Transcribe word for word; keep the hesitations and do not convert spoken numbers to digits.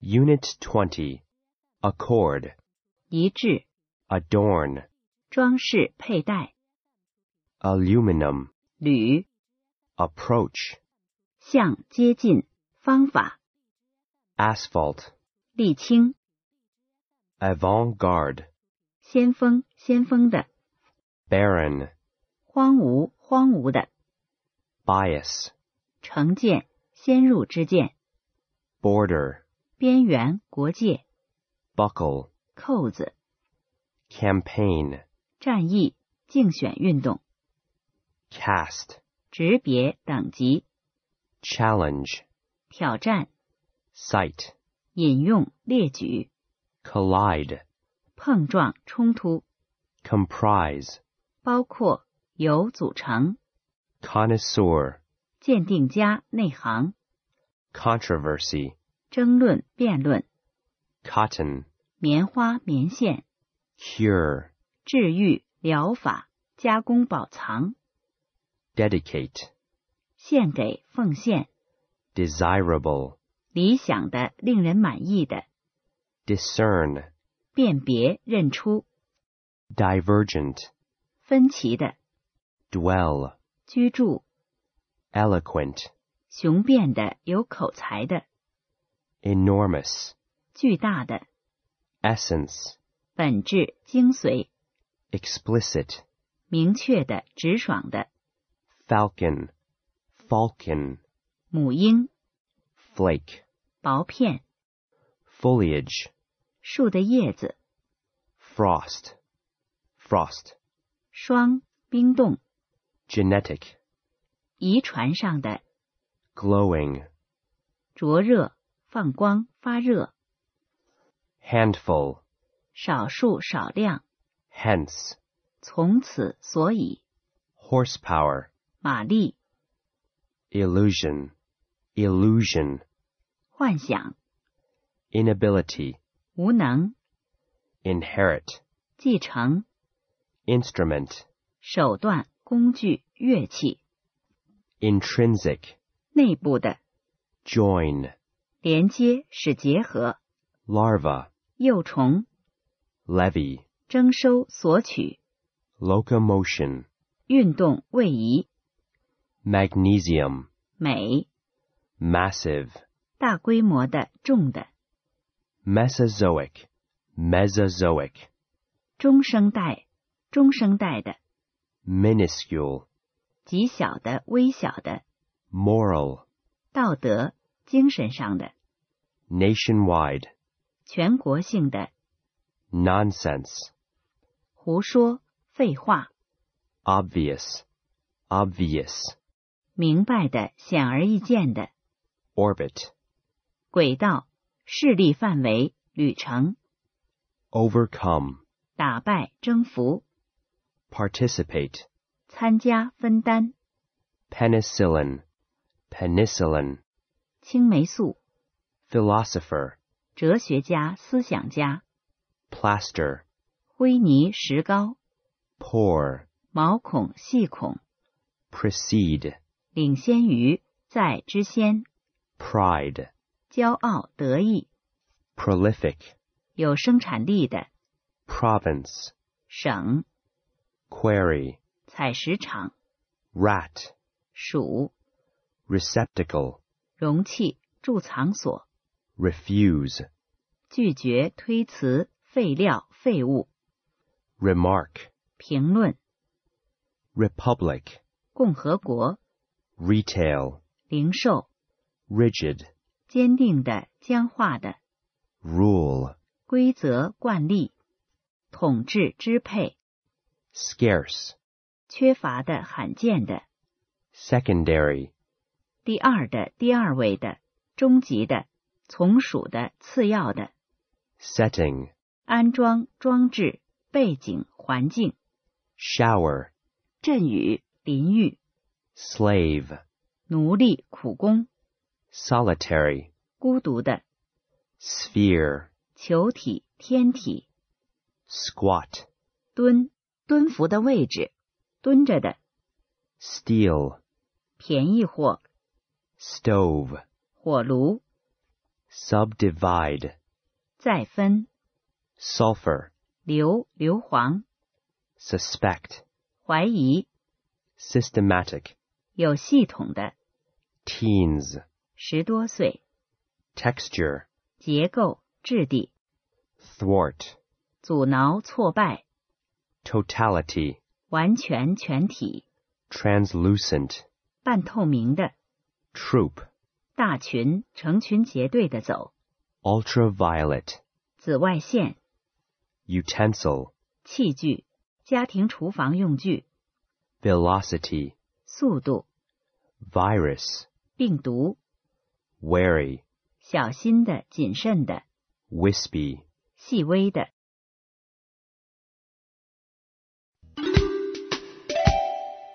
Unit twenty. Accord. 一致， Adorn. 装饰佩戴， Aluminum. 铝， Approach. 向接近，方法， Asphalt. 沥青， Avant-garde. 先锋，先锋的， Barren. 荒芜，荒芜的， Bias. 成见，先入之见， Border. 边缘，国界， Buckle. 扣子， Campaign. 战役，竞选运动， Cast. 职别，等级， Challenge. 挑战， Cite. 引用，列举， Collide. 碰撞，冲突， Comprise. 包括，由组成， Connoisseur. 鉴定家，内行， Controversy. 争论，辩论， Cotton. 棉花，棉线， Cure. 治愈，疗法，加工保藏， Dedicate. 献给，奉献， Desirable. 理想的，令人满意的， Discern. 辨别，认出， Divergent. 分歧的， Dwell. 居住， Eloquent. 雄辩的，有口才的， Enormous. 巨大的， Essence. 本质，精髓， Explicit. 明确的，直爽的， Falcon. Falcon. 母婴， Flake. 薄片， Foliage. 树的叶子， Frost. Frost. 霜，冰冻， Genetic. 遗传上的， Glowing. 灼热，放光，发热， Handful. 少数，少量， Hence. 从此，所以， Horsepower. 马力， Illusion. Illusion. 幻想， Inability. 无能， Inherit. 继承， Instrument. 手段，工具，乐器， Intrinsic. 内部的， Join. 连接，使结合， Larva. 幼虫， Levy. 征收，索取， Locomotion. 运动，位移， Magnesium. 美， Massive. 大规模的，重的， Mesozoic. Mesozoic. 中生代，中生代的， Minuscule. 极小的，微小的， Moral. 道德，精神上的， Nationwide. 全国性的， Nonsense. 胡说，废话， Obvious. Obvious. 明白的，显而易见的， Orbit. 轨道，势力范围，旅程， Overcome. 打败，征服， Participate. 参加，分担， Penicillin. Penicillin. 青霉素， Philosopher. 哲学家，思想家， Plaster. 灰泥，石膏， Pour. 毛孔，细孔， Precede. 领先于，在之先， Pride. 骄傲，得意， Prolific. 有生产力的， Province. 省， Query. 采石场， Rat. 鼠， Receptacle. 容器，贮藏所， Refuse. 拒绝，推辞，废料，废物， Remark. 评论， Republic. 共和国， Retail. 零售， Rigid. 坚定的，僵化的， Rule. 规则，惯例，统治，支配， Scarce. 缺乏的，罕见的， Secondary. 第二的，第二位的，终极的，从属的，次要的， Setting. 安装，装置，背景，环境， Shower. 阵雨，淋浴， Slave. 奴隶，苦工， Solitary. 孤独的， Sphere. 球体，天体， Squat. 蹲，蹲伏的位置，蹲着的， Steal. 便宜货， Stove. 火炉， subdivide, 再分， sulfur, 硫硫磺， suspect, 怀疑， systematic, 有系统的， teens, 十多岁， texture, 结构质地， thwart, 阻挠挫败， totality, 完全全体， translucent, 半透明的， troop, 大群成群结队的走， ultraviolet, 紫外线， utensil, 器具，家庭厨房用具， velocity, 速度， virus, 病毒， wary, 小心的谨慎的， wispy, 细微的。